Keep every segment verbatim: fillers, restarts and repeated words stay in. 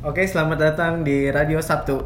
Oke, selamat datang di Radio Sabtu.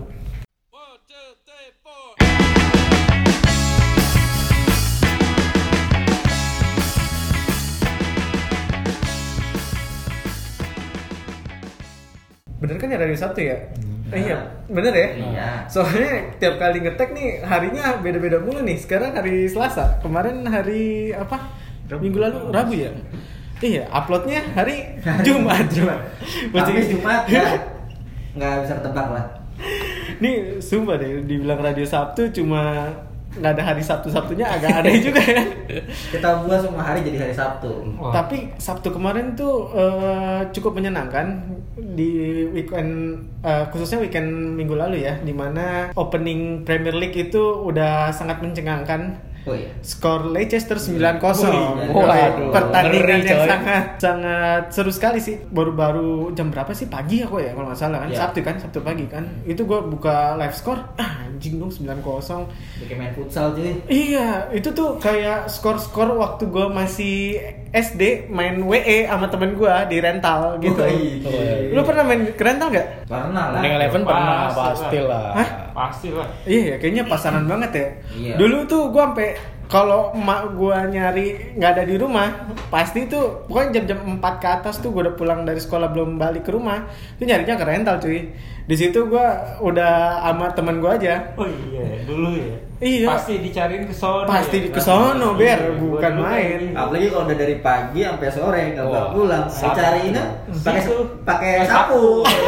Bener kan ya Radio Sabtu ya? Hmm. Eh, iya, bener ya? Iya. Soalnya tiap kali ngetek nih harinya beda-beda mulu nih. Sekarang hari Selasa, kemarin hari apa? Minggu lalu Rabu ya? Iya, uploadnya hari Jumat. Jumat. Tapi Jumat ya nggak bisa ketebak lah. Nih sumpah deh, dibilang Radio Sabtu cuma nggak ada hari Sabtu-Sabtunya agak aneh juga ya. Kita buat semua hari jadi hari Sabtu. Wah. Tapi Sabtu kemarin tuh uh, cukup menyenangkan di weekend, uh, khususnya weekend minggu lalu ya, dimana opening Premier League itu udah sangat mencengangkan. Oh iya. Skor Leicester sembilan kosong. Oh iya. Waduh, pertandingan ngeri, yang coy. sangat sangat seru sekali sih. Baru-baru jam berapa sih? Pagi aku ya kalau nggak salah kan. Iya. Sabtu kan, Sabtu pagi kan. Itu gua buka live score, ah, anjing dong sembilan kosong. Bikin main futsal cuy. Iya, itu tuh kayak skor-skor waktu gua masih S D main W E sama temen gua di rental gitu. Oh, iya. Lu pernah main ke rental nggak? Pernah lah. Winning Eleven pernah Pasti pasti lah. Hah? Pasti lah. Iya, kayaknya pasaran banget ya. Iya. Dulu tuh gua sampai kalau emak gua nyari nggak ada di rumah, pasti tuh pokoknya jam-jam empat ke atas tuh gua udah pulang dari sekolah belum balik ke rumah, tuh nyarinya ke rental cuy. Di situ gua udah sama temen gua aja. Oh iya, dulu ya. Iya. Pasti dicariin ke sono. Pasti ya? ke sono, Ber, Iya, bukan gua dulu main. kayak Apalagi kalau udah dari pagi sampai sore nggak Wah, bakal pulang. sama. Dicariinnya pakai Situ. pakai Pakai sapu.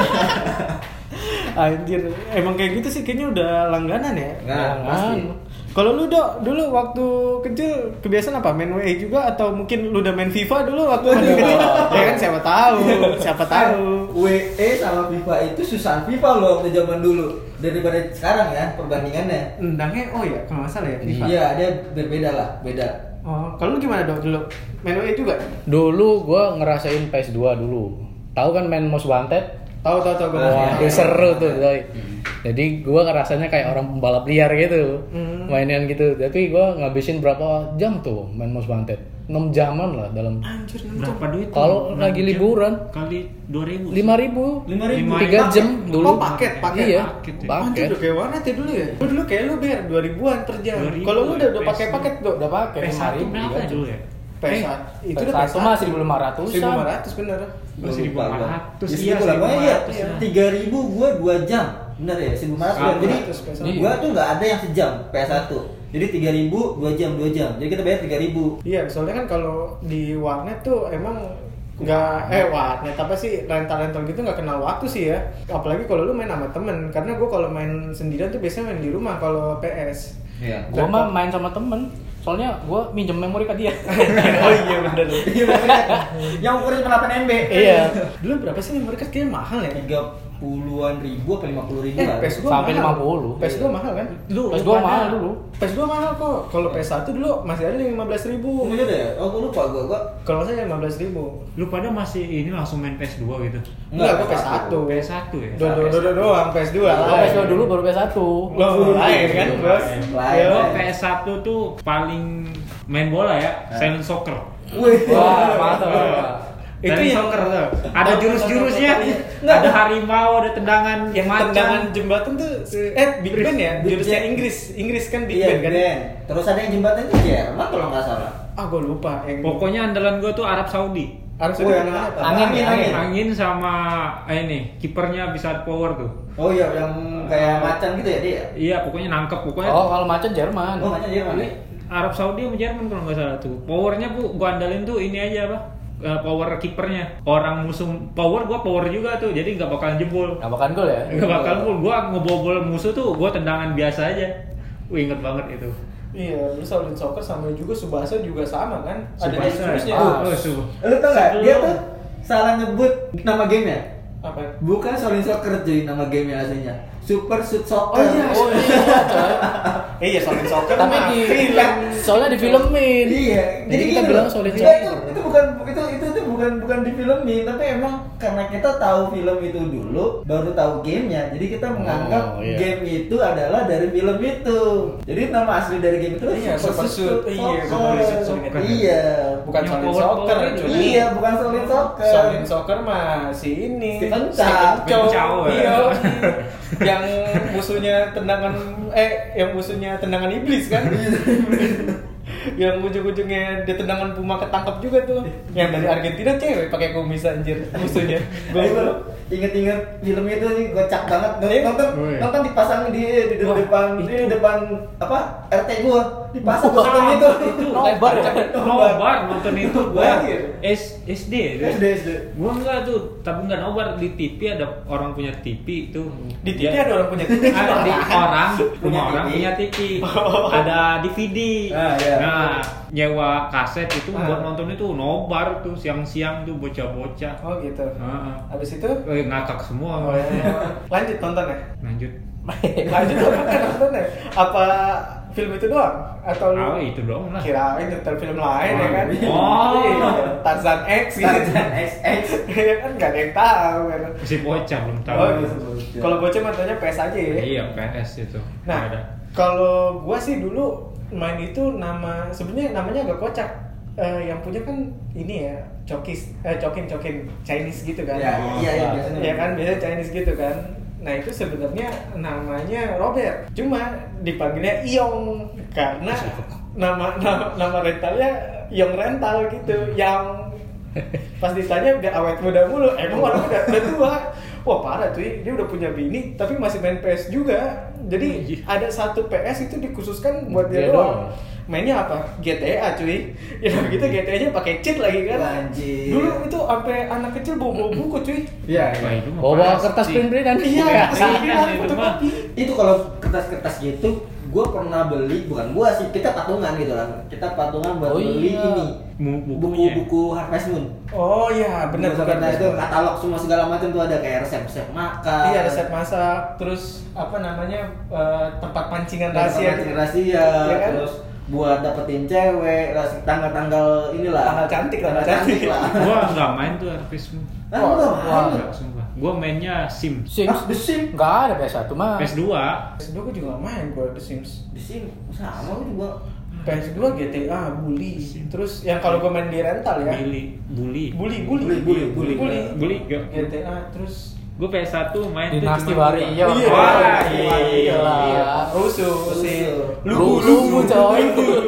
Anjir, emang kayak gitu sih kayaknya udah langganan ya. Nah, pasti. Kalau lu Dok, dulu waktu kecil kebiasaan apa? Main W E juga atau mungkin lu udah main FIFA dulu waktu masih kecil? Ya kan siapa tahu, siapa tahu. W E sama FIFA itu susah FIFA loh waktu zaman dulu daripada sekarang ya perbandingannya. Endangnya oh ya, kalau nggak salah ya FIFA. Iya, dia berbeda lah, beda. Oh, kalau lu gimana Dok dulu? Main W E juga? Dulu gua ngerasain P S dua dulu. Tahu kan main Most Wanted? Tahu tahu tahu gue. Wah, itu seru tuh, Doi. Jadi gua ngerasanya kayak orang pembalap liar gitu. Hmm. Mainan gitu. Tapi gua ngabisin berapa jam tuh main Most Wanted? enam jaman lah dalam. Anjir, enam jam. Berapa duit? tuh? Kalau enam lagi jam liburan kali dua ribu. lima ribu. lima ribu. tiga jam dulu. Oh, paket, paket. Iya, Paket ya. Anjir, paket. udah kayak warnet ya dulu ya? Lu dulu kayak lu biar dua ribuan per jam. dua ribu Kalau lu udah udah ya, pakai P S paket Dok? Udah pakai P S lima satu ribu. berapa dulu ya? P S satu. Itu Itu udah P S satu mah seribu lima ratus. seribu lima ratus bener. seribu lima ratus. Ya, Iya, seribu lah. Pokoknya iya, seribu lima ratus. tiga ribu gua dua jam. Bener ya, seribu lima ratus. Sama. Jadi P S satu. gua tuh nggak ada yang sejam P S satu. Jadi tiga ribu dua jam dua jam. Jadi kita bayar tiga ribu. Iya, soalnya kan kalau di warnet tuh emang nggak eh warnet apa sih rental-rental gitu nggak kenal waktu sih ya. Apalagi kalau lu main sama temen. Karena gue kalau main sendirian tuh biasanya main di rumah kalau P S. Iya. Gua mah main sama temen. Soalnya gua minjem memori ke dia. Oh iya bener. Iya bener. Yang ukuran cuma delapan M B. Iya. Dulu berapa sih memory card kayaknya mahal ya? tiga puluhan ribu apa lima puluh ribu Eh, lah. P S dua Sampai mahal. lima puluh. P S dua mahal kan? Dulu P S dua pada- mahal dulu. P S dua mahal kok. Kalau P S satu dulu masih ada lima belas ribu. Oh iya deh. Oh gua lupa gua gua. Kalau saya lima belas ribu. Lu pada masih ini langsung main P S dua gitu. Enggak, gue P S satu. P S satu ya. Do do do do doang P S dua. Gua P S dua dulu baru P S satu. Lo lain kan, Bos? Lain. Lo P S satu tuh paling main bola ya, silent soccer. Wih. Wah, mantap. Itu Silent yang- soccer tuh. Ada jurus-jurusnya. Nggak. Ada harimau, ada tendangan Yang macan. tendangan jembatan tuh eh Big Ben ya, Big jurusnya Ben. Inggris, Inggris kan Big Iya Ben kan. Ben. Terus ada yang jembatan itu Jerman kalau nggak salah. Ah gue lupa. Yang Pokoknya andalan gue tuh Arab Saudi. harus Oh, ada yang apa? angin, Angin, angin. angin sama eh, ini kipernya bisa power tuh. Oh iya yang kayak macan gitu ya dia. Iya, pokoknya nangkep pokoknya. Oh, kalau macan Jerman. Oh macan Jerman ya. Arab Saudi sama Jerman kalau nggak salah tuh. Powernya bu, gua andalin tuh ini aja apa? Eh, power kipernya. Orang musuh power, gua power juga tuh. Jadi nggak bakalan jebol. Nggak bakal gol ya? Nggak bakalan jebol. Gua ngebobol musuh tuh, gua tendangan biasa aja. Wih, inget banget itu. Iya, lu Shaolin Soccer sama juga Subasa juga sama kan? Ada Subasa. jurusnya. Ah. Oh, subuh. Lu tau nggak? Dia Sebelum- tuh salah nyebut nama gamenya. Apa? Bukan Shaolin Soccer cuy nama gamenya aslinya. Super Shoot Soccer. Oh iya. Oh iya, coy. Eh iya Shaolin Soccer. Tapi mah di film. soalnya di filmin. Iya. Jadi kita gini bilang loh. Shaolin Dia itu, Soccer. itu bukan itu itu itu bukan bukan bukan di filmin, tapi emang karena kita tahu film itu dulu, baru tahu gamenya, jadi kita menganggap Oh, iya. game itu adalah dari film itu. Jadi nama asli dari game itu Iya, Super Shoot. Iya, Soccer. Super Shoot. Iya, Bukan Yang Solid power- Soccer, power cuy. itu. iya, bukan Solid Soccer. Solid Soccer mah si ini. Stephen Chow. Stephen Chow. Chow, ya. Iya. Yang musuhnya tendangan eh yang musuhnya tendangan iblis kan? Yang ujung-ujungnya dia tendangan Puma ketangkap juga tuh. Yang dari Argentina cewek pakai kumis anjir musuhnya. Gue Gua inget-inget film itu nih gocak banget. Iya. Nonton Oh, iya. nonton dipasang di di, di Wah, depan di depan apa R T gua dipasang Wah, nonton itu. nobar ya? Nobar nonton itu gua Lahir. S SD itu. S D S D. Gua enggak tuh, tapi enggak nobar di T V ada orang punya T V itu. Di T V ada orang punya T V. Ada di orang, Punya rumah orang T V. punya T V. Ada D V D. Ah, iya. Nah, nyewa kaset itu Ah. buat nonton itu nobar tuh siang-siang tuh bocah-bocah. Oh gitu. Heeh. Habis itu Eh, ngakak semua. oh, iya. Lanjut nonton ya? Lanjut. Lanjut apa kan nonton ya? Apa film itu doang? Atau lu Ah, itu doang lah. kirain nonton film lain ya kan? Oh. Iya. Tarzan X gitu. Tarzan X X. Iya kan nggak ada yang tahu kan. Masih bocah belum tahu. Oh, gitu. Kalau bocah matanya P S aja ya. Iya, P S itu. Nah, Ada. kalau gua sih dulu main itu nama sebenarnya namanya agak kocak. Eh, yang punya kan ini ya, Cokis, eh Cokin Cokin Chinese gitu kan. Iya, iya, iya, biasanya. Iya kan, biasanya Chinese gitu kan. Nah, itu sebenarnya namanya Robert. Cuma dipanggilnya Iong karena nama nama, nama rentalnya Iong Rental gitu. Yang pas ditanya udah awet muda mulu, emang orang udah, udah tua. Wah parah cuy, dia udah punya bini tapi masih main P S juga. Jadi ada satu P S itu dikhususkan buat dia Dia doang. doang. Mainnya apa? G T A cuy. Ya begitu G T A-nya pakai cheat lagi kan. Anjir. Dulu itu sampai anak kecil bawa-bawa buku cuy. Iya, Wah, iya. itu mah Bawa pasti. kertas print-printan. Iya, Iya, sembilan itu fotokopi. Itu kalau kertas-kertas gitu gue pernah beli, bukan gua sih, kita patungan gitu lah. Kita patungan buat Oh, beli iya. ini Mu- bukunya. buku-buku Harvest Moon. Oh iya, benar Buku benar. Harvest Moon, itu katalog semua segala macam tuh ada kayak resep-resep makan. Iya, resep masak, terus apa namanya eh, tempat pancingan rahasia, rahasia. gitu. rahasia, Iya kan? terus buat dapetin cewek, ras- tanggal-tanggal inilah. Tanggal cantik, tanggal tanggal cantik cantik. lah. Gua enggak main tuh Harvest Moon. Ah, Wah, enggak wah. main. Enggak, sumpah. Gua mainnya Sims. Sims. Ah, The Sims. Enggak ada P S satu mah. P S dua. P S dua gue juga gak main gue The Sims. The Sims sama itu gua. P S dua G T A, Bully. Terus yang kalau gue main di rental ya. Bully, bully. Bully, bully, Bully, bully, bully. bully. Bully, G gak. T A terus Gue P S satu main tuh Dinasti cuma Wario. Iya, Wah, iya, iya. iya. Rusuh si Lubu, lubu, coy.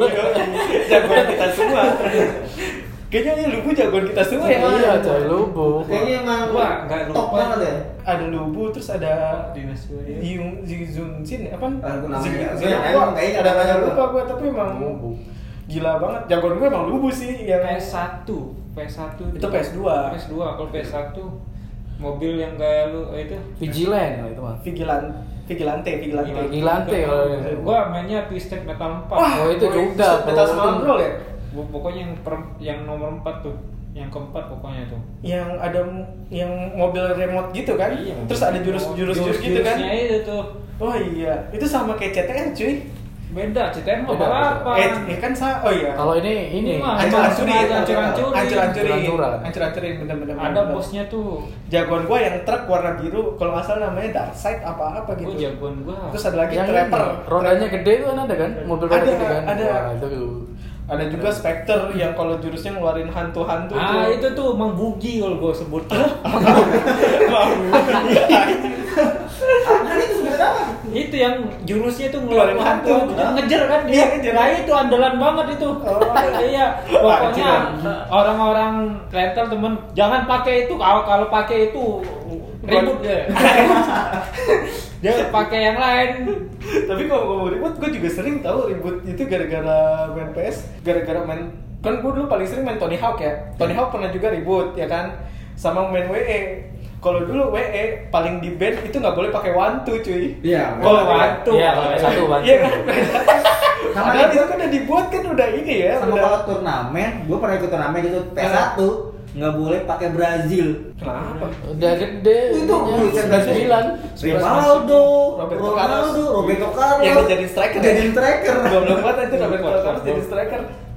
Jagoan kita semua. Kayaknya ini Lubu jagoan kita semua ya. Iya, coy, lubu. Kayaknya emang Gua nggak top lupa. banget ya. Ada Lubu terus ada Dinasti Wario. Yung Zun Sin apa? Ah, gua namanya Zing- nggak- Zing- gua gua emang kayaknya ada namanya banyak gua. lupa gua tapi emang Lubu. gila banget. Jagoan gue emang Lubu sih yang P S satu, P S satu Itu P S dua. P S dua. Kalau P S satu mobil yang kayak lu eh, itu Vigilant lah itu mah. Vigilan Vigilante, Vigilante. Iya, Vigilante, itu. kalau- Gua mainnya Twisted Metal empat. Wah, Oh, itu juga, Metal bro. Small ya? Gua pokoknya yang per, yang nomor empat tuh. Yang keempat pokoknya tuh. Yang ada m- yang mobil remote gitu kan? Iya, Terus ada jurus-jurus jurus gitu kan? Jurus-jurusnya itu tuh. Oh iya, itu sama kayak C T R cuy. Beda, C T R mah Beda, balapan. Eh, eh kan sa oh iya. Kalau ini ini Ini mah Hancur-hancurin, Hancur-hancurin. hancur-hancurin, Hancur-hancuran. hancur-hancurin, bener-bener. Ada bosnya tuh. Jagoan gua yang truk warna biru, kalau nggak salah namanya Darkseid apa-apa gitu. Gua jagoan gua. Terus ada lagi yang Trapper. ini, rodanya gede itu kan ada kan? Mobil roda Ada, gede kan? ada. Wah, itu. Ada juga Spectre yang kalau jurusnya ngeluarin hantu-hantu Ah, tuh. itu tuh Mang Bugi kalau gua sebut. Apaan itu sebenarnya apa? Itu yang jurusnya tuh ngeluarin Ngeluarin hantu, hantu. Itu ngejar kan dia. Iya, ngejar. Nah, itu andalan banget itu. Oh. Iya, pokoknya Anjir. orang-orang rental temen jangan pakai itu kalau kalau pakai itu ribut ya. Dia pakai yang lain. Tapi kalau ngomong ribut, gue juga sering tahu ribut itu gara-gara main P S, gara-gara main kan gue dulu paling sering main Tony Hawk ya. Tony Hawk pernah juga ribut ya kan, sama main W E. Kalau dulu W E paling di band itu nggak boleh pakai wantu cuy. Iya. Kalau Oh, wantu. Iya, kalau satu wantu. Iya kan. Sama Padahal itu- itu kan udah dibuat kan udah ini ya. Sama udah. kalau turnamen, gue pernah ikut turnamen gitu P S satu nggak boleh pakai Brazil. Kenapa? Udah gede. Itu sembilan sembilan. Ronaldo, Roberto Ronaldo, Carlos. Roberto Carlos. Yang dijadiin striker ya? Jadiin striker. Goblok banget itu Roberto Kuat, Carlos kuat. jadi striker.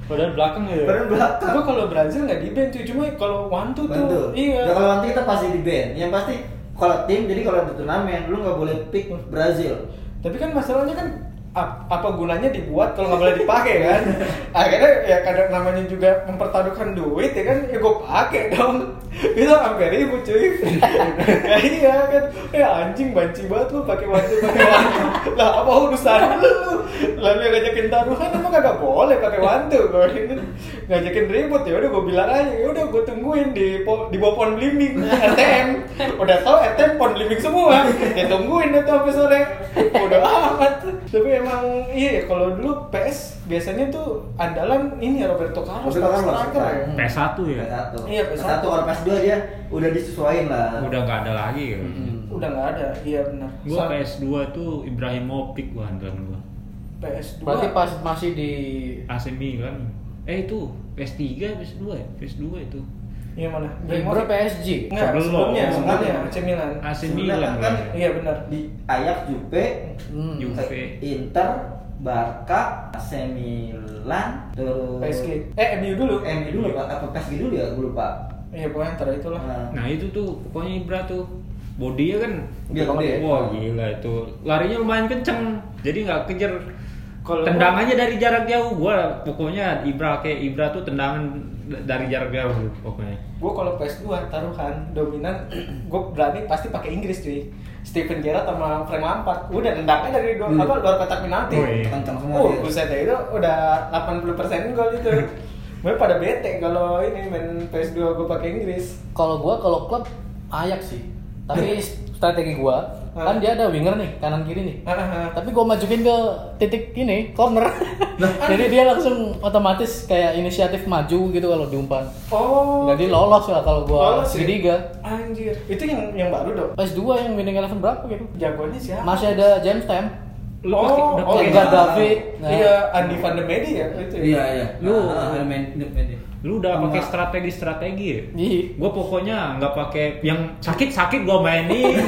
Padahal belakang ya. Padahal belakang. Gua kalau Brazil nggak di ban cuy, cuma kalau one two tuh Bantu. iya. Ya, kalau nanti kita pasti di band. Yang pasti kalau tim, jadi kalau ada turnamen lu nggak boleh pick Brazil. Tapi kan masalahnya kan ap- apa gunanya dibuat kalau nggak boleh dipakai kan? Akhirnya ya kadang namanya juga mempertaruhkan duit ya kan, ya gue pakai dong. Itu hampir ribut cuy. Ya iya kan, ya anjing banci banget lu pakai wantu pakai wantu. Lah apa urusan lu? Lalu yang ngajakin taruhan emang kagak boleh pakai wantu. Gue ini ngajakin ribut ya udah gue bilang aja, ya udah gue tungguin di po- di bawah pohon belimbing R T M. Udah tau R T M pohon belimbing semua. Ya tungguin deh tuh sampai sore. Udah amat. Tapi emang iya kalau dulu P S biasanya tuh andalan ini ya Roberto Carlos, Roberto Carlos, striker ya. P S satu ya. P S satu. Iya, P S P S satu. satu kalau P S dua dia udah disesuaiin lah. Udah nggak ada lagi ya. Udah nggak ada, iya benar. Gua Sa- P S dua tuh Ibrahimovic gua andalan gua. P S dua. Berarti pas masih di A C Milan. Eh itu P S tiga, P S dua ya? P S dua itu. Iya mana? Ibra P S G. Enggak, Sebelum. sebelumnya, sebelumnya Sebelum. A C Milan. A C Sebenarnya Milan kan- kan. Iya benar. Di Ajax, Juve, Hmm. Juve. Inter, Barca, A C Milan, terus P S G. Eh M U dulu. M U dulu Pak, apa P S G dulu ya? Gue lupa. Iya pokoknya antara itulah. Nah, Nah itu tuh pokoknya Ibra tuh bodinya kan Dia gede. gede. Wah gila itu larinya lumayan kenceng jadi nggak kejar. Kalau Tendangannya dari jarak jauh. Gua pokoknya Ibra kayak Ibra tuh tendangan d- dari jarak jauh pokoknya. gue kalau P S dua taruhan dominan, gue berani pasti pakai Inggris cuy. Steven Gerrard sama Frank Lampard udah tendangnya dari do- Hmm. apa luar kotak penalti. Oh, iya. kencang semua Oh, dia. buset deh, itu udah delapan puluh persen gol itu. Mereka pada bete kalau ini main P S dua gue pakai Inggris. Kalau gua kalau klub Ajax sih. Tapi strategi gua kan dia ada winger nih, kanan kiri nih. Hahaha. Tapi gua majukin ke titik ini, corner. Jadi dia langsung otomatis kayak inisiatif maju gitu kalau diumpan. Oh. Jadi lolos lah kalau gua Lolos ya? segitiga. Anjir, itu yang yang baru dong. P S dua yang winning eleven berapa gitu? Jagoannya siapa? Masih ada James Tam. Lu pakai udah oh, pakai Edgar iya. David. Nah. Iya, Andy van der Medi ya itu. ya? Iya, iya. Lu- Ah, ah, main main. Lu udah pakai Enggak. strategi-strategi ya? Iya. Gue pokoknya nggak pakai yang sakit-sakit gue mainin.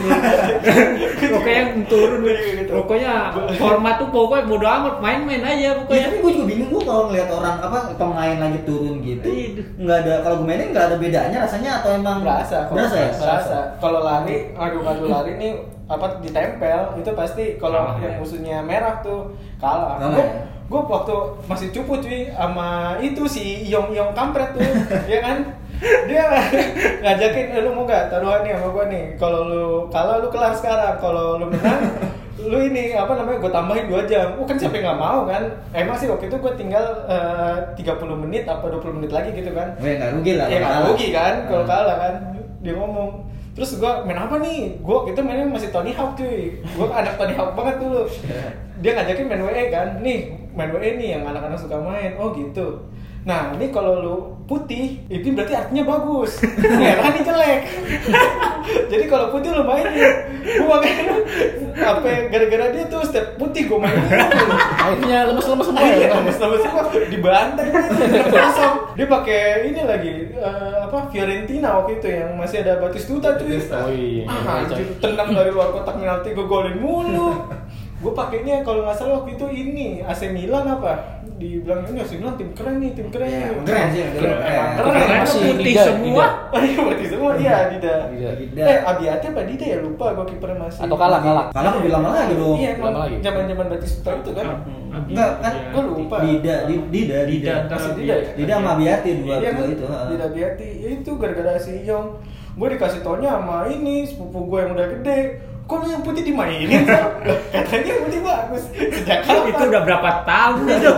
Pokoknya yang turun. Pokoknya format tuh pokoknya bodo amat main-main aja Ya, pokoknya. tapi gue juga bingung gue kalau ngeliat orang apa pemain lagi turun gitu, Iya. nggak ada kalau gue mainin nggak ada bedanya rasanya atau emang Berasa, kok. berasa ya? Berasa. Kalau lari, adu-adu lari nih apa ditempel itu pasti kalau Kalah, yang ya. musuhnya merah tuh kalah. Kalah, Gue ya? gue waktu masih cupu cuy sama itu si Yong Yong kampret tuh, ya kan? Dia ngajakin, eh, lu mau gak taruhan nih sama gue nih? Kalau lu kalah lu kelar sekarang, kalau lu menang lu ini apa namanya gue tambahin dua jam. Oh kan siapa yang nggak mau kan? Emang sih waktu itu gue tinggal eh, tiga puluh menit apa dua puluh menit lagi gitu kan? Oh, ya nggak rugi lah. Ya kalau nggak kalah. rugi kan kalau Ah. kalah kan. Dia ngomong. Terus gue main apa nih? Gue itu mainnya masih Tony Hawk cuy. Gue anak Tony Hawk banget dulu. Dia ngajakin main W E kan. Nih main W E nih yang anak-anak suka main. Oh gitu. Nah ini kalau lu putih itu berarti artinya bagus. Merah nih jelek. Jadi kalau putih lu mainin. Gue makanya apa gara-gara dia tuh setiap putih gue mainin. Akhirnya lemes-lemes semua Iya, ya. lemes-lemes semua dibantai kosong. Dia pakai ini lagi eh, apa Fiorentina waktu itu yang masih ada Batistuta tuh. Oh iya. Ah, anjir, tendang dari luar kotak penalti gue golin mulu. Gue pakainya kalau nggak salah waktu itu ini A C Milan apa? Dibilang ini A C Milan tim keren nih, tim keren. Iya, nih. keren sih, keren. Emang Keren. keren. Keren Masih putih Dida, semua. Oh iya, berarti semua iya Dida. Dida. Dida. Eh Abiati apa Dida ya lupa gue kipernya masih. Atau kalah, kalah. Kalah lebih lama lagi dong. Iya, emang Lama lagi. zaman-zaman Batistuta itu kan. Enggak, kan? Iya. Gue lupa. Dida, Di- Dida, Dida. Dida. Masih Dida ya? Dida sama Abiati dua Iya dua kan? itu. ha. Dida Biati. Ya itu gara-gara si Yong. Gue dikasih taunya sama ini sepupu gue yang udah gede. Kok lu yang putih dimainin? Sal? Lah, katanya yang putih bagus. Sejak kapan? Itu udah berapa tahun itu?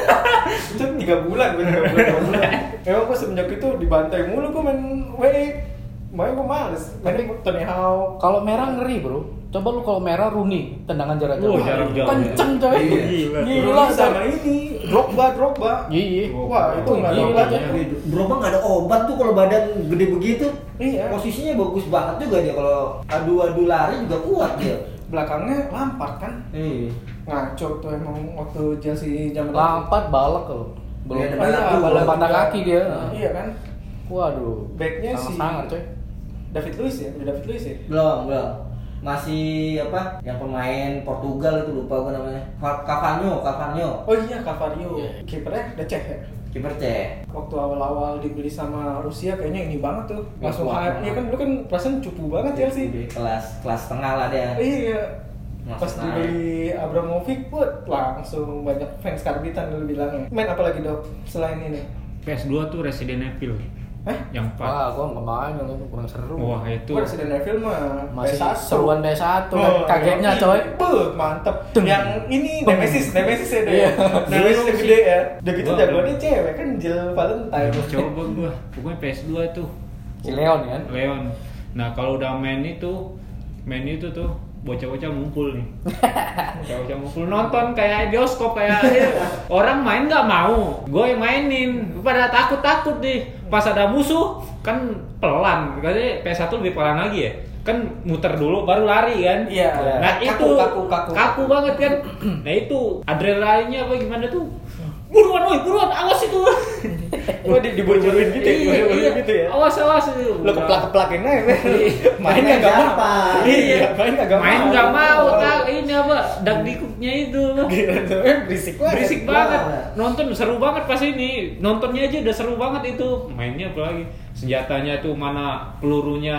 Itu tiga bulan, gue tiga bulan, tiga bulan. Emang gue semenjak itu dibantai mulu gue main W E. Makanya gue males. Main Tony Hawk. Kalau merah ngeri, Bro. Coba lu kalau merah Rooney, tendangan jarak jauh. Oh, jarak jauh. Kenceng coy. Iya. Gila. Gila sama ini Drogba, Drogba. Iya. Wah, itu nggak ada Gila, obatnya. coy. Drogba nggak ada obat tuh kalau badan gede begitu. Iya. Posisinya bagus banget juga dia kalau adu-adu lari juga kuat dia. Belakangnya Lampard kan. Iya. Ngaco tuh emang waktu Chelsea zaman Lampard balak kalau. Belum Iya, ada Oh, iya, balak balak patah juga. kaki dia. Iya kan. Waduh. Backnya si sangat coy. David Luiz ya, udah David Luiz ya. Belum, belum. Masih apa? Yang pemain Portugal itu lupa gue namanya. Ca- Cavani, Cavani. Oh iya, Cavario. Iya. Kipernya udah cek ya. Kiper C. Waktu awal-awal dibeli sama Rusia kayaknya ini banget tuh. Gak Langsung kuat hype. banget. Iya kan lu kan perasaan cupu banget ya sih. Di kelas kelas tengah lah dia. Iya. Langsung Pas dibeli Abramovich put langsung banyak fans karbitan dulu bilangnya. Main apa lagi dok selain ini? P S dua tuh Resident Evil. Eh? Yang empat. Wah, gua nggak main kalau itu kurang seru. Wah, itu Gua Resident Evil mah Masih P S satu. seruan P S satu kan Oh, kagetnya yang coy. ini, Buh, mantep. Tung. Yang ini Tung. Nemesis, Nemesis ya deh. Iya. Nemesis yang gede ya. Udah gitu Wah, jagoannya cewek kan Jill Valentine. coba gua. Pokoknya P S dua tuh Si Leon kan. Leon. Nah, kalau udah main itu, main itu tuh bocah-bocah ngumpul nih. Bocah-bocah ngumpul nonton kayak bioskop kayak orang main nggak mau, gue yang mainin. Pada takut-takut nih. Pas ada musuh kan pelan. Katanya P S satu lebih pelan lagi ya. Kan muter dulu baru lari kan. Iya. Nah, Kaku, itu kaku, kaku. kaku banget kan. Nah, itu adrenalinnya apa gimana tuh? Buruan, woi, buruan, awas itu. Wah, di dibocorin gitu ya, Iya, dibocorin iya. gitu ya. Awas, awas itu. Lo keplak-keplakin aja, Be. Main Mainnya nggak mau. gampang. Iya, main nggak mau. Main nggak mau, tak ini apa? Dagdikuknya itu. Gila, eh, berisik banget. Berisik banget. Nonton seru banget pas ini. Nontonnya aja udah seru banget itu. Mainnya apalagi senjatanya tuh mana pelurunya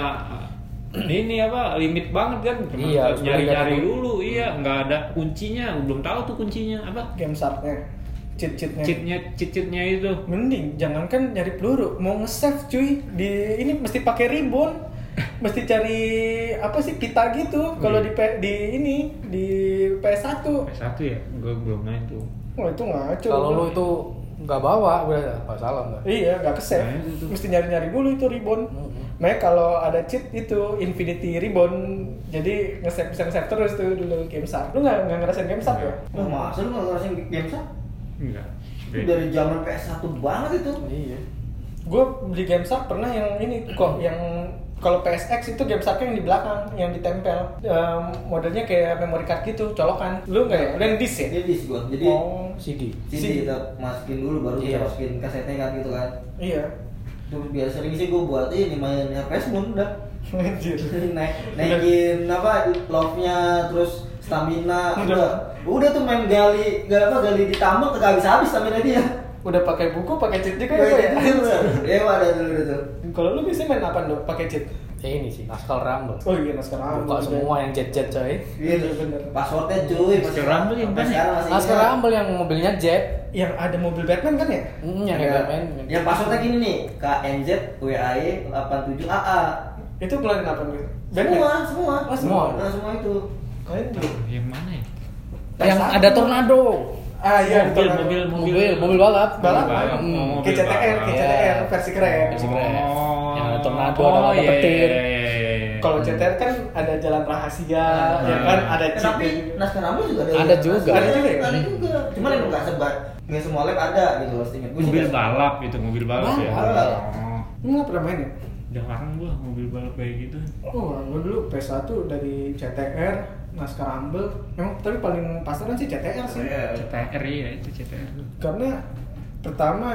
ini apa limit banget kan. Cuma Iya, harus nyari-nyari beli dulu. Iya, nggak ada kuncinya. Belum tahu tuh kuncinya apa. Game sharknya, cheat-cheatnya. Cheatnya, cheat-cheatnya itu. Mending jangankan nyari peluru, mau nge-save cuy di ini mesti pakai ribbon, mesti cari apa sih pita gitu. Kalau di P- di ini di P S satu, P S satu ya? Gue belum main tuh. wah itu ngaco. Kalau lu itu nggak bawa, udah nggak salah nggak. Iya, nggak ke-save. Nah, itu tuh. Mesti nyari-nyari dulu itu ribbon. Mm-hmm. Makanya kalau ada cheat itu Infinity Ribbon, jadi nge-save bisa nge-save terus tuh dulu game shark. Lu nggak nggak ngerasain game shark ya? Wah, masa lu nggak ngerasain game shark? Enggak. Itu dari zaman P S satu banget itu. Iya. Gue beli game shark pernah yang ini kok yang kalau P S X itu game sharknya yang di belakang yang ditempel. Ehm, modelnya kayak memory card gitu, colokan. Lu nggak ya? Lu yang disc ya? Dia disk gua. Jadi Oh, C D. C D kita masukin dulu baru kita Iya. masukin kasetnya kan gitu kan. iya. Terus biasa sering sih gua buat ini main H P S Moon udah. Anjir. Naik, naikin apa love-nya terus stamina Udah. udah. Udah tuh main gali gali apa gali ditambah kagak habis-habis stamina dia. Udah pakai buku, pakai cheat juga ya? Pak, ya? Iya, ada dulu itu. Kalau lu biasanya main apa dok? Pakai cheat? Ya ini sih, Naskal Rumble. Oh iya, Naskah Rumble. Buka semua yang jet-jet coy. Iya bener. Passwordnya cuy. Naskah Rumble yang sampai mana? sekarang masih Naskal ingat. Rumble yang mobilnya jet. Yang ada mobil Batman kan ya? Hmm, yang Ada. Batman. Yang passwordnya gini nih, K N Z W A Y delapan tujuh A A. Itu keluarin apa nih? Semua, semua. Oh, semua. Nah, semua itu. Anjir. Yang mana ya? Yang Satu. ada tornado. Ah iya, Mobil, tornado. mobil, Mobil, mobil balap. balap, balap. Hmm. Oh, K C T R, K C T R Iya. versi keren. Versi keren. Oh. Yang ada tornado, ada mata iya, petir. iya, iya, iya. Kalau C T R kan ada jalan rahasia, ya kan ada Eh, chip. tapi Naskah Rumble juga ada. Ada juga. Ada juga ya? Ada juga. Cuman yang nggak sebar, nggak semua lab ada gitu loh. Seingat gue sih Mobil nggak- balap itu, mobil balap ya. Balap. Oh. Lu nggak pernah main ya? Jarang gua mobil balap kayak gitu. Oh, gua dulu P S satu dari C T R, Naskah Rumble. Emang tapi paling pasaran sih C T R sih. C T R ya, itu C T R tuh. Karena pertama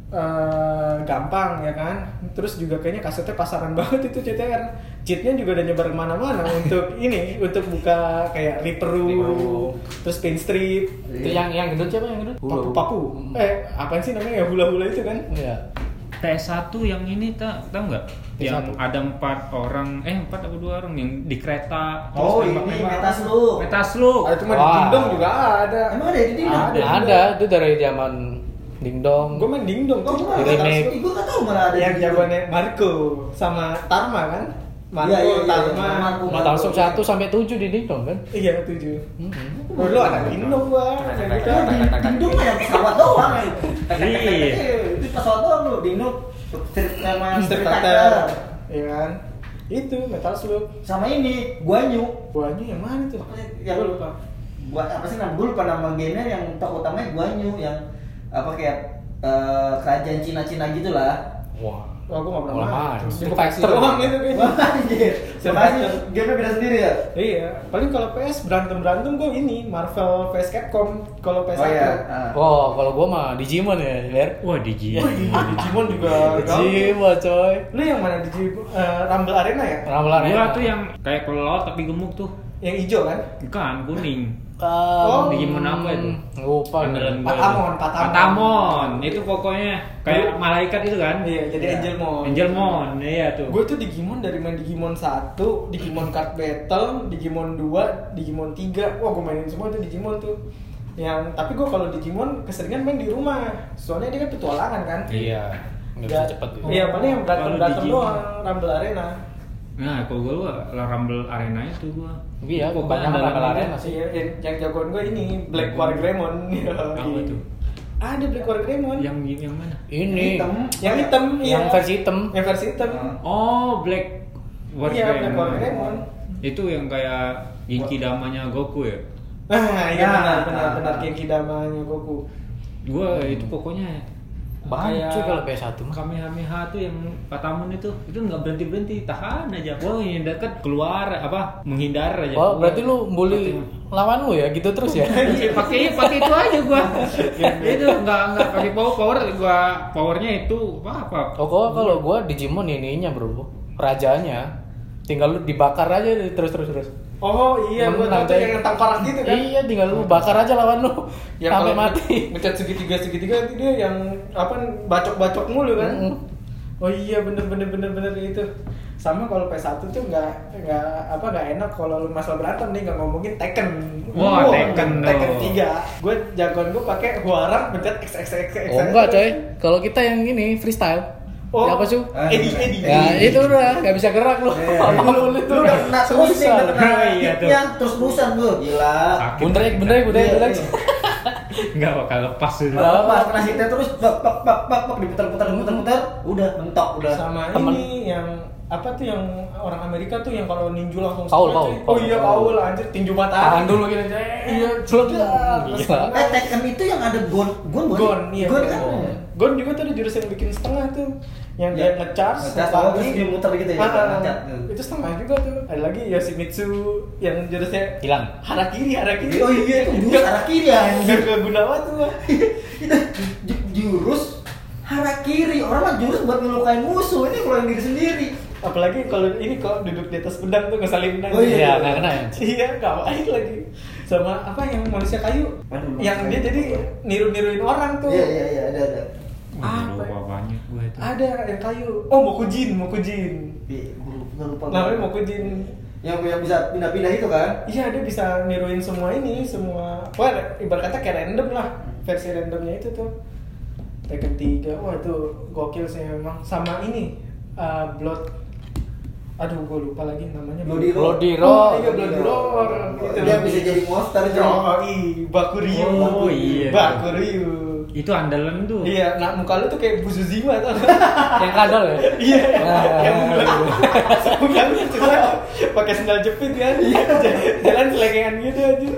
eh, gampang ya kan, terus juga kayaknya kasetnya pasaran banget itu C T R. Cheatnya juga udah nyebar kemana-mana untuk ini, untuk buka kayak Reaper, Reaper. terus Pinstrip, Itu yang yang gendut siapa yang gendut? papu-papu. Hmm. Eh, apaan sih namanya ya hula-hula itu kan? Iya. P S satu yang ini tak tahu nggak? P S satu. Yang ada empat orang, eh empat atau dua orang yang di kereta. Oh, terus ini nembak-nembak. Metaslug. Metaslug. Ah, itu mah di Wah. Dingdong juga ada. Emang ada di Dingdong? Ada. Ada, itu dari zaman Dingdong. Gue main Dingdong Oh, tuh. gue Di remake. Gue nggak tahu malah ada. Yang di- jagoannya Marco sama Tarma kan? Marco, Iya, iya, iya, Tarma. iya. Marco. Metaslug satu sampai tujuh di Dingdong kan? Iya, tujuh. Hmm. Oh, lu anak Dingdong gua. Yang gitu. Oh, di Dingdong mah yang pesawat doang. Iya. Itu pesawat doang lu. Dingdong Street sama Street Street Fighter. Fighter. Iya kan? Itu Metal Slug. Sama ini Guanyu. Guanya yang mana tuh? Apa sih, yang Gua lupa. buat apa sih nama gue lupa nama gamenya yang tokoh utamanya Guanyu yang apa kayak eh, kerajaan Cina-Cina gitulah. Wah. Oh, gua nggak pernah Malah main. main. Di Street Bekasi Fighter. doang itu kayaknya. Wah anjir. Sebenarnya gamenya beda sendiri ya. Iya, paling kalau P S berantem berantem gue ini Marvel vs Capcom kalau P S Oh satu. iya. Ah. Oh, kalau gua mah Digimon ya, Ler. Wah, Digi. Wah, iya, Digimon juga. Digimon coy. Lu yang mana Digimon? Eh, Rumble Arena ya? Rambulan Gua tuh yang kayak kelelawar tapi gemuk tuh. Yang hijau kan? Bukan, kuning. Um, Digimon apa itu? Lupa. Andalan gua. Patamon, Patamon. Patamon. Itu pokoknya kayak malaikat itu kan? Iya, jadi Iya. Angelmon. Angelmon, iya tuh. Gue tuh Digimon dari main Digimon satu, Digimon Card Battle, Digimon dua, Digimon tiga. Wah, gue mainin semua tuh Digimon tuh. Yang tapi gue kalau Digimon keseringan main di rumah. Soalnya dia kan petualangan kan. Iya. Nggak bisa Nggak- cepet. Iya, paling yang berantem Kalau berantem Digimon. doang, Rumble Arena. Nah, kalau gue lah Rumble Arena itu gua. Iya, Pokoknya kebanyakan andalan Rumble gua. Arena sih. Iya, yang, yang jagoan gue ini Black Wargreymon. Apa tuh? Ada Black Wargreymon. Yang yang mana? Ini Hitam. yang hitam, yang iya. versi hitam. Yang versi hitam. Oh, Black Iya, Black Wargreymon. Itu yang kayak Genki Damanya Goku ya? Nah, iya Nah, benar benar nah, benar nah. Genki Damanya Goku. Gua itu pokoknya Banyak cuy kalau P S satu mah. Kamehameha tuh yang Patamon itu itu nggak berhenti berhenti, tahan aja. Wah, yang deket keluar apa menghindar aja. Oh, berarti lu bully lawan lu ya gitu terus ya? Iya, pakai pakai itu aja gua. Itu nggak nggak pakai power power gua powernya itu apa apa. Oh, kok kalau gua Digimon ininya, Bro. Rajanya. Tinggal lu dibakar aja terus terus terus. Oh iya, gue tahu Menang tuh deh. yang tangkarak gitu kan. Iya, tinggal lu bakar aja lawan lu Yang sampai kalau mati. ngecat segitiga segitiga nanti dia yang apa bacok-bacok mulu kan. Mm. Oh iya bener bener bener bener itu. Sama kalau P S satu tuh nggak nggak apa nggak enak kalau lu masalah berantem nih nggak ngomongin Tekken. Wah, Wow, Tekken Tekken dong. tiga. Gue jagoan gue pakai Huarang pencet X X X X. Oh enggak coy, kalau kita yang ini freestyle. Oh, Ya apa sih? Edi Edi. Ya itu udah, gak bisa gerak lu. Iya. Lu Lu udah kena terus nih, udah kena Oh, iya tuh. hitnya terus-terusan lu. Gila. Sakit. Bundrek, bundrek, bundrek, Iya, bundrek. iya. Nggak bakal lepas itu. Nggak. Pas kena hitnya terus bak bak bak bak bak diputar-putar diputar-putar, udah mentok udah. Sama Temen. ini yang apa tuh yang orang Amerika tuh yang kalau ninju langsung Paul, smash, Paul, cuy. Paul. Oh iya Paul anjir tinju matahari. Tahan dulu gini aja. Iya, celuk. Terus Gila. Eh Tekken itu yang ada gon gon bukan? Gon, iya. Gon Gon, kan? Gon juga tuh ada jurus yang bikin setengah tuh. Yang Iya. dia nge-charge, Nge-charge, lagi. terus dia muter gitu ya, Ah, ah, nge-charge. itu setengah juga tuh. Ada lagi Yoshimitsu yang jurusnya Hilang. harakiri, harakiri. Oh iya itu jurus harakiri ya. Enggak ke Gunawan tuh. Itu ju- jurus harakiri. Orang mah jurus buat ngelukain musuh, ini ngelukain diri sendiri. Apalagi kalau ini kok duduk di atas pedang tuh ngesalin pedang. Oh iya. Iya, nggak kena ya. Iya, nggak baik lagi. Sama apa yang manusia kayu? Aduh, yang dia manusia jadi kayu. niru-niruin orang tuh. Iya iya iya ada ada. Wah, Apa? lupa banyak gue itu. Ada yang kayu. Oh, Mokujin, Mokujin. Iya, gua lupa, gua lupa. Namanya Mokujin. Yang yang bisa pindah-pindah itu kan? Iya, dia bisa niruin semua ini, semua. Wah, ibarat kata kayak random lah. Versi randomnya itu tuh. Tekken tiga. Wah, itu gokil sih memang. Sama ini uh, Blood. Aduh, gue lupa lagi namanya. Bloody Roar. Bloody Oh, Roar. iya Bloody Roar. Gitu. Dia bisa jadi monster itu. Oh, iya, Bakuryu. Oh, iya. Bakuryu. Itu andalan tuh. Iya, nah muka lu tuh kayak Buzuzima tuh. Yang kadal ya? Iya, Nah, yang bukan cuma pakai sendal jepit kan, jalan selengean gitu aja.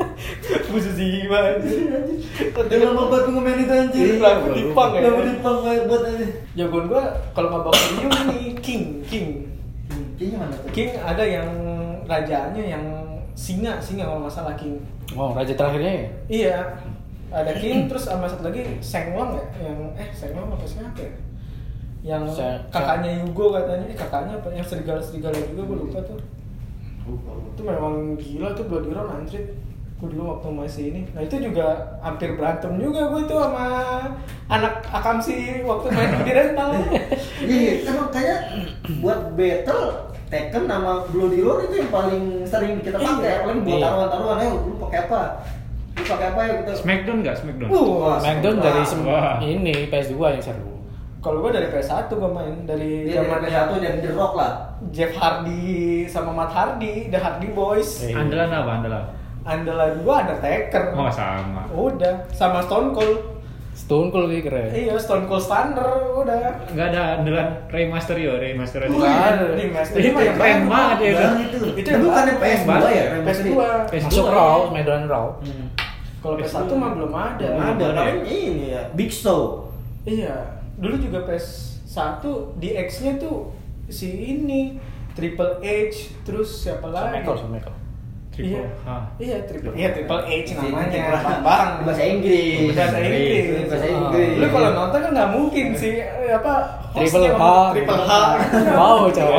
Buzuzima aja. Udah lama banget gua ngemain itu anjir. Iya, lagu Dipang ya. Lagu Dipang banget buat aja. Jagoan gua kalau nggak Bakuryu ini King, King. Kayaknya mana tuh? King ada yang rajanya yang singa, singa kalau nggak salah King. Oh, raja terakhirnya ya? Iya, ada King terus sama satu lagi Senglong ya, yang eh Senglong apa siapa ya? Yang Se- kakaknya Yugo katanya, eh kakaknya apa? Yang serigala-serigala juga gue lupa tuh. Lupa, lupa. Itu memang gila tuh Bloody Roar anjir. Gue dulu waktu masih ini. Nah itu juga hampir berantem juga gue tuh sama anak Akamsi waktu main di rental. Iya, emang kayak buat battle Tekken sama Bloody Roar itu yang paling sering kita pakai. Iya. Apalagi buat Iya. taruhan-taruhan, ayo lu pakai apa? Lu pakai apa ya kita? Smackdown nggak Smackdown? Uh, Smackdown Wah. dari sem- Wah. ini P S dua yang seru. kalau gue dari P S satu gue main dari Dia zaman dari satu dan The Rock lah. Jeff Hardy sama Matt Hardy, The Hardy Boys. Iya. Andalan apa andalan? Andalan gue Undertaker. Oh sama. Udah, sama Stone Cold. Stone Cold lebih keren. Iya, Stone Cold Thunder udah. Nggak ada andalan Rey Mysterio, Rey Mysterio. Oh, iya, ini Mas. Ini mah yang keren banget ya. Bang, itu. Itu Itu yang bukannya baru. P S dua Baru. ya? P S dua. P S Masuk dua. Raw, Medan Raw. Hmm. Kalau P S satu mah belum ada. Belum ada, Belum ada paling ya? ini ya. Big Show. Iya, dulu juga P S satu di X-nya tuh si ini Triple H, terus siapa lagi? Michael, sama Michael. Triple Iya, H. iya Triple, iya Triple H namanya. Bang, Bang, bahasa Inggris. Bahasa Inggris. Bahasa Inggris. Lu kalau nonton kan nggak mungkin sih eh, apa Triple hostnya H. ngomong Triple H. Wow, coba. Oh, gua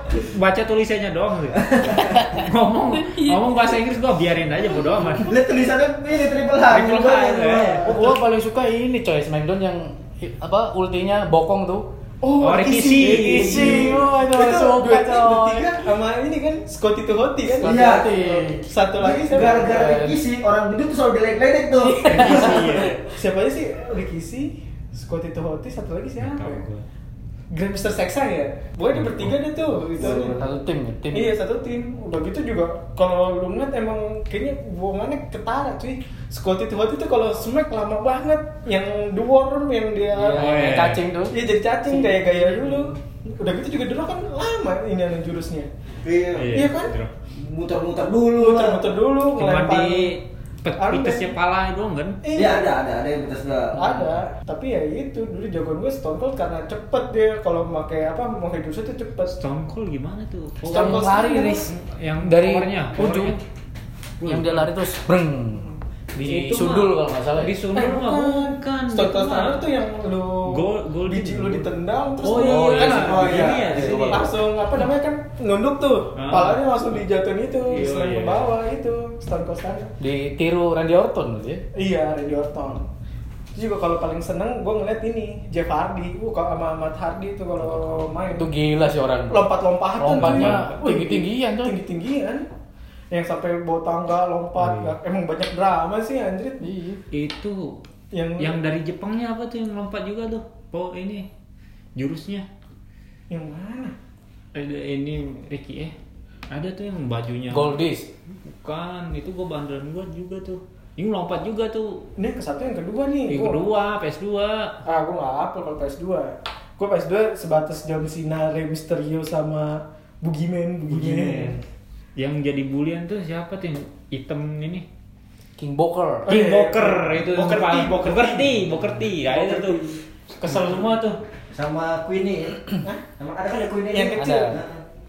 baca tulisannya doang sih. ngomong ngomong bahasa Inggris gue biarin aja bodo amat. Lihat tulisannya ini triple H. Triple H, ya. Gua paling suka ini coy, Smackdown yang apa ultinya bokong tuh. Oh, Rikishi. Rikishi. Oh, itu Itu suka duet coy. bertiga sama ini kan Scotty to Hotty kan. Scotty Iya. Hotty. Satu lagi siapa? Gara-gara Rikishi orang gendut tuh selalu geledek-geledek tuh. Siapa aja sih? Rikishi, Scotty to Hotty, satu lagi siapa? Tahu ya? gue. Grand Mister Sexa ya? Pokoknya di bertiga deh tuh gitu. Satu tim ya, tim. Iya satu tim. Udah gitu juga kalau lu ngeliat emang kayaknya buangannya ketara cuy. Scotty to Hotty tuh kalau smack lama banget. Yang dwarf yang dia Iya, Oh, iya. cacing tuh. Iya jadi cacing kayak gaya dulu. Udah gitu juga dulu kan lama ini yang jurusnya. Iya. Iya kan? Muter-muter dulu. Muter-muter dulu Cuma ngelempar. di pet- Armband. pitasnya pala doang kan? Iya ada ada ada yang betul sudah. Ada, tapi ya itu dulu jagoan gue Stone Cold karena cepet dia kalau pakai apa mau hidup itu cepet. Stone Cold gimana tuh? Oh, Stone Cold lari Stone Riz. yang dari powernya, ujung. powernya. Yang dia lari terus breng. Di Itu sundul mah- kalau nggak salah. Di sundul Eh, mah bukan. Stone Cold Itu Stunner mah- tuh yang lu Gol- gol biji gitu. lu ditendang terus Oh, lu- iya, kan, iya, oh begini iya, ya, di sini. langsung apa namanya kan nunduk tuh, Ah. palanya langsung dijatuhin itu, Iya, selain iya. ke bawah itu Stone Cold Stunner. Ditiru Randy Orton gitu ya. Iya, Randy Orton. Itu juga kalau paling seneng gue ngeliat ini Jeff Hardy, uh kalau sama Matt Hardy tuh kalau main Itu gila sih orang. lompat-lompatan Lompatnya tuh. Wih, tinggi-tinggian tuh. tinggi-tinggian yang sampai bawa tangga lompat. Iya. Emang banyak drama sih anjir. Iya. Itu Yang yang dari Jepangnya apa tuh yang lompat juga tuh? Oh ini jurusnya. yang mana? Ada ini Ricky eh. Ada tuh yang bajunya. Goldis. Bukan, itu gua banderan gua juga tuh. Ini lompat juga tuh. Ini yang ke satu yang kedua nih. Yang Gua- kedua, P S dua. Ah, gue nggak hafal kalau P S dua. Gue P S dua sebatas John Cena, Rey Mysterio sama Boogeyman, Boogeyman. Yang jadi bulian tuh siapa tuh yang hitam ini? King Booker. Oh, King iya. Boker itu Booker T, paling- Booker T. Booker T, Booker T. Ya itu Booker tuh. T. Kesel semua tuh. Sama Queenie. Hah? Sama ada kan ada Queenie Yang kecil. Ada.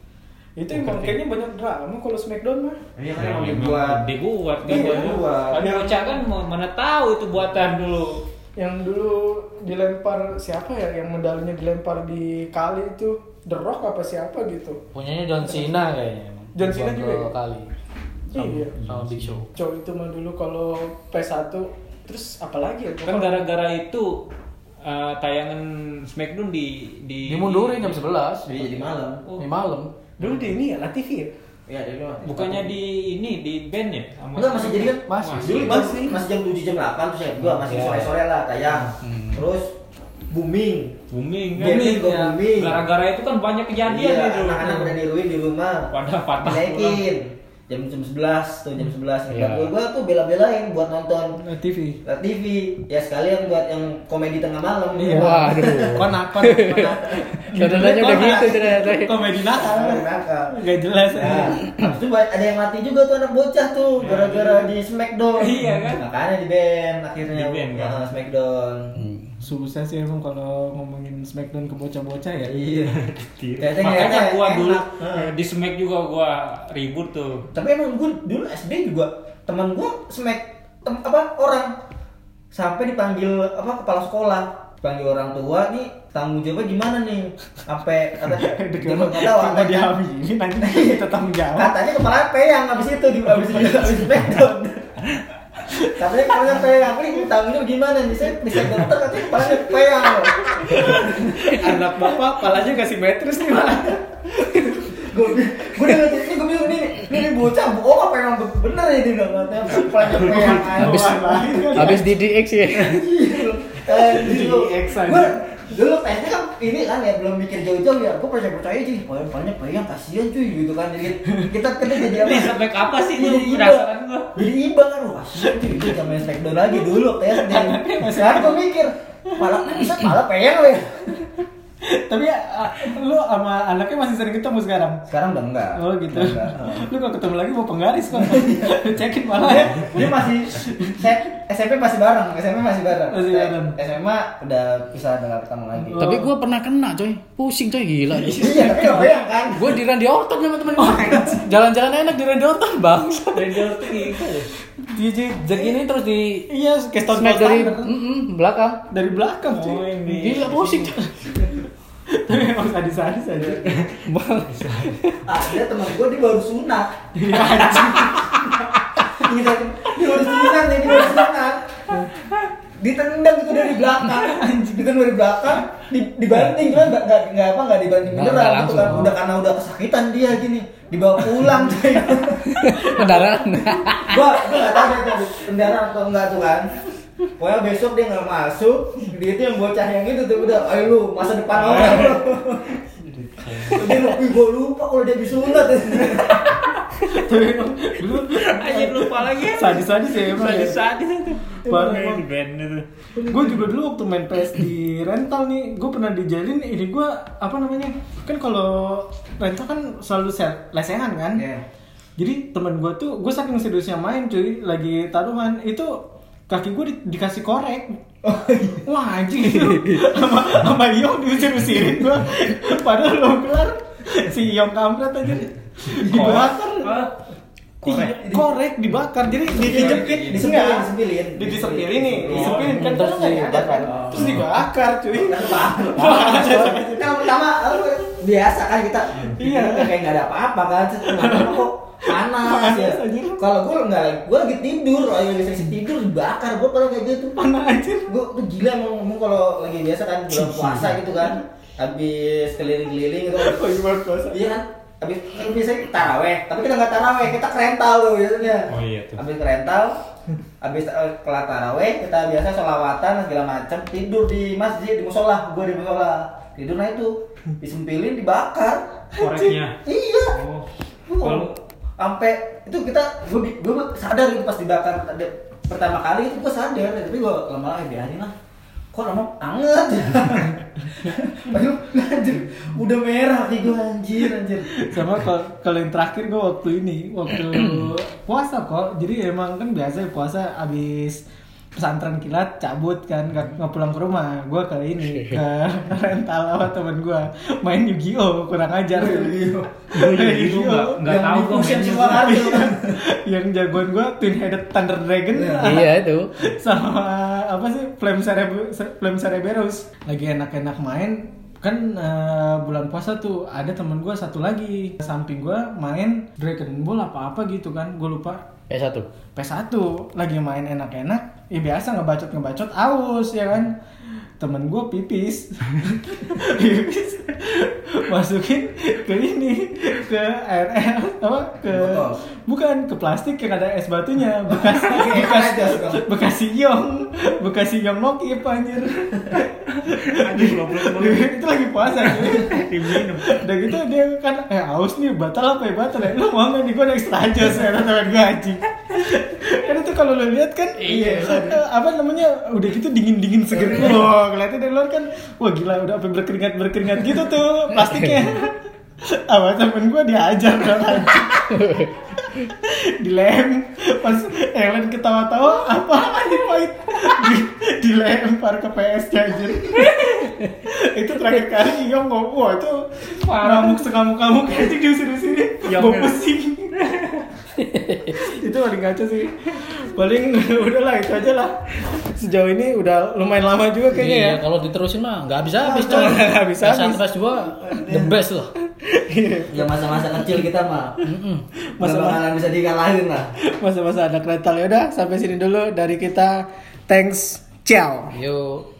Itu emang kayaknya banyak drama kalau Smackdown mah. Iya kan Ya, emang memang dibuat. dibuat kan Iya, buat- dibuat. Tapi bocah kan mau- mana tahu itu buatan dulu. Yang dulu dilempar siapa ya? Yang medalnya dilempar di kali itu The Rock apa siapa gitu? Punyanya John Cena kayaknya. emang. John Cena Dibuat juga ya? dua kali. Sama, Iya. sama Big Show. Cowok itu mah dulu kalau P satu terus apa lagi ya? Kan gara-gara itu uh, tayangan Smackdown di di Dimundurin jam sebelas. Jadi jadi malam. Oh. Di malam. Dulu di ini ya, La T V ya? Iya, dari luar. Bukannya di ini di band ya? Sama- Enggak masih jadi kan? Masih. Dulu masih masih jam tujuh jam delapan terus ya gua masih Iya. sore-sore lah tayang. Hmm. Terus booming. booming kan? Booming, ya. booming. Gara-gara itu kan banyak kejadian Iya, itu. anak-anak udah niruin di rumah. Pada patah Naikin. Jam jam sebelas tuh jam sebelas. Iya. Gua gua tuh bela-belain buat nonton La T V. T V. Ya sekalian buat yang komedi tengah malam. Iya. Waduh. Konakon. Saudaranya udah gitu ternyata. Komedi nakal. Komedi nakal. Gak jelas. Nah, habis itu ada yang mati juga tuh anak bocah tuh gara-gara di Smackdown. Iya kan? Makanya di band akhirnya. Di band, kan? Nah, Smackdown. Susah sih emang kalau ngomongin Smackdown ke bocah-bocah ya. Iya. Kayaknya Makanya kayaknya gua dulu enak. eh, di Smack juga gua ribut tuh. Tapi emang gue dulu S D juga teman gue smack tem, apa orang sampai dipanggil apa kepala sekolah, dipanggil orang tua nih tanggung jawabnya gimana nih? Sampai kata dia nggak tahu Cuma katanya, dihamilin nanti kita tanggung jawab. katanya kepala peyang habis itu di habis itu habis Smackdown. Katanya kepala peyang, ini tanggung jawab gimana nih? Saya bisa dokter katanya kepalanya peyang. Anak bapak palanya gak simetris nih Pak. Gue gue udah ngerti ini gue bilang ini ini bocah bohong apa emang bener ya dia nggak katanya kepalanya peyang. Habis Aduh, habis di D X ya. Eh, dulu, Di X aja. gua dulu tesnya kan ini kan ya belum mikir jauh-jauh ya, gua percaya percaya cuy, oh banyak peyang kasihan cuy gitu kan, jadi kita kita jadi apa? Ini Smack apa sih Jadi itu iba, perasaan gua? jadi iba kan, wah kasihan cuy, itu zaman Smackdown lagi dulu tes deh. Sekarang gua mikir, malah bisa malah peyang weh. Tapi ah, lu sama anaknya masih sering ketemu sekarang? Sekarang udah enggak. Oh gitu. Udah enggak. Lu kalau ketemu lagi mau penggaris kok. Cekin malah. Dia, dia masih set S M P masih bareng, S M P masih bareng. Masih bareng. S M A udah bisa udah ketemu lagi. Oh. Tapi gue pernah kena coy. Pusing coy gila. Iya, tapi enggak peyang kan. Gue di Randy Orton sama temen gue. Jalan-jalan enak di Randy Orton bang. Ranger tuh gitu. Dia jadi Jadi ini terus di iya kayak Stone smack Cold dari Stunner. mm -mm, belakang. Dari belakang Oh, cuy. ini. Gila pusing coy. Tapi emang sadis-sadis aja. Ada teman gue dia baru sunat. Iya anjing. Gitu. Dia baru sunat nih, dia baru sunat. Ditendang gitu dari belakang, anjing. Ditendang dari belakang, dibanting cuma enggak enggak enggak apa enggak dibanting beneran gitu kan. Udah karena udah kesakitan dia gini. Dibawa pulang coy. Kendaraan. Gua gua enggak tahu dia kendaraan atau enggak tuh kan. Pokoknya besok dia nggak masuk, dia itu yang bocah yang itu tuh udah, ayo lu masa depan orang lu. Dia lebih gue lupa kalau dia disunat. Dulu Aja lupa lagi. sadis-sadis ya emang. ya. Sadis-sadis itu. Baru Main emang. di band itu. Gue juga dulu waktu main P S di rental nih, gue pernah dijalin ini gue apa namanya? Kan kalau rental kan selalu se- lesehan kan. Iya. Jadi teman gue tuh, gue saking seriusnya main cuy, lagi taruhan itu kaki gue di, dikasih korek. Wah anjing itu sama sama Yong diusir-usirin gue. Padahal lo kelar si Yong kampret aja dibakar. Korek. Iya, korek dibakar. Jadi dijepit, Disepilin, disepilin. Di disepilin nih, Oh. disepilin kan Terus terus nggak ada kan. dibakar. Terus dibakar cuy. Kan pertama lu biasa kan kita Iya. kayak nggak ada apa-apa kan, kenapa kok panas Panas, ya. anjir. Kalau gue nggak, gue lagi tidur, lagi lagi tidur dibakar, gue pernah kayak gitu. Mana anjir. Gue tuh gila emang, emang kalau lagi biasa kan bulan puasa gitu kan, habis keliling-keliling gitu. Oh gimana puasa? Iya kan, habis kan biasanya taraweh, tapi kita nggak taraweh, kita kerental tuh biasanya. Oh iya tuh. Habis kerental, habis uh, kelar taraweh, kita biasa sholawatan segala macam, tidur di masjid, di musola, gue di musola. Tidur nah itu disempilin, dibakar. Koreknya. Iya. Oh. Oh. Kalau Sampai itu kita, gue gue sadar gitu pas dibakar ada- pertama kali itu gue sadar, tapi gue lama-lama biarin lah. Kok lama anget? Aduh, anjir, udah merah hati gue anjir, anjir. Sama kalau kalau yang terakhir gue waktu ini waktu puasa kok. Jadi emang kan biasa puasa abis pesantren kilat cabut kan nggak nggak pulang ke rumah. Gue ke ini ke rental sama temen gue main Yu-Gi-Oh, kurang ajar tuh. gue Yu-Gi-Oh nggak nggak Yang tahu di gue fusion main semua kartu kan. Yang jagoan gue Twin Headed Thunder Dragon. Iya itu. Sama apa sih Flame Cerebe- Flame Cerberus lagi enak-enak main kan. eh, bulan puasa tuh ada temen gue satu lagi samping gue main Dragon Ball apa apa gitu kan, gue lupa. P satu. P satu lagi main enak-enak, ya biasa ngebacot ngebacot aus ya kan. Temen gue pipis, pipis masukin ke ini ke air air apa ke Botol. bukan ke plastik yang ada es batunya bekas Kayak bekas aja, suka. bekas Yong bekas Yong Nokip anjir. Anjing goblok banget. Itu lagi puasa cuy. Diminum. Udah gitu dia kan eh aus nih batal apa ya batal ya, lu mau nggak nih gue ada extra jos ya teman gue anjing. Kan itu kalau lu lihat kan Iya. eh, apa namanya udah gitu dingin dingin seger. Wah ngeliatnya dari luar kan wah gila udah sampai berkeringat berkeringat gitu tuh plastiknya. Apa temen gue diajar kan anjing. Dilem pas yang lain ketawa-tawa apa anjing pahit di, dilempar ke P S anjir. Itu terakhir kali Yong ngomong wah itu ngamuk sengamuk-ngamuk anjing diusir-usir Yong gue ya. pusing. Itu paling ngaco sih. Paling udahlah itu aja lah. Sejauh ini udah lumayan lama juga kayaknya Iya, ya. kalau diterusin mah nggak bisa habis coy. Nggak habis-habis. P satu P dua the best loh. Ya masa-masa kecil kita mah, Masa- masa bakalan bisa dikalahin lah. Masa-masa anak rental ya udah sampai sini dulu dari kita. Thanks, ciao. Yuk.